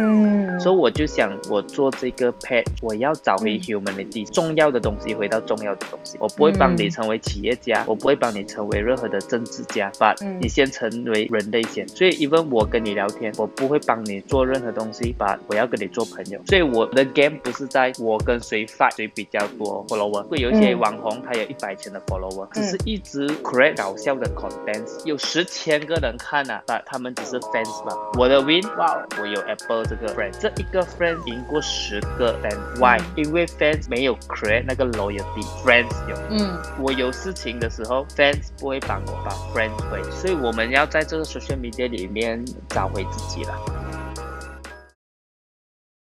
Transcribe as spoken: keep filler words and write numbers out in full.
嗯， 所以我就想，我做这个 pet， 我要找回 humanity，、嗯、重要的东西回到重要的东西。我不会帮你成为企业家，嗯、我不会帮你成为任何的政治家，把、嗯、你先成为人类先。所以 even 我跟你聊天，我不会帮你做任何东西，把我要跟你做朋友。所以我的 game 不是在我跟谁 fight 谁比较多 follower， 会有一些网红他有一百千的 follower，、嗯、只是一直 create 搞笑的 content， 有十千个人看啊，但他们只是 fans 吧。我的 win， 哇，我有 Apple 这个 friend， 这一个 friend 赢过十个 fan，why？、嗯、因为 fans 没有 create 那个 loyalty，friends 有。嗯，我有事情的时候 ，fans 不会帮我，把 friends 会，所以我们要在这个 social media 里面找回自己了。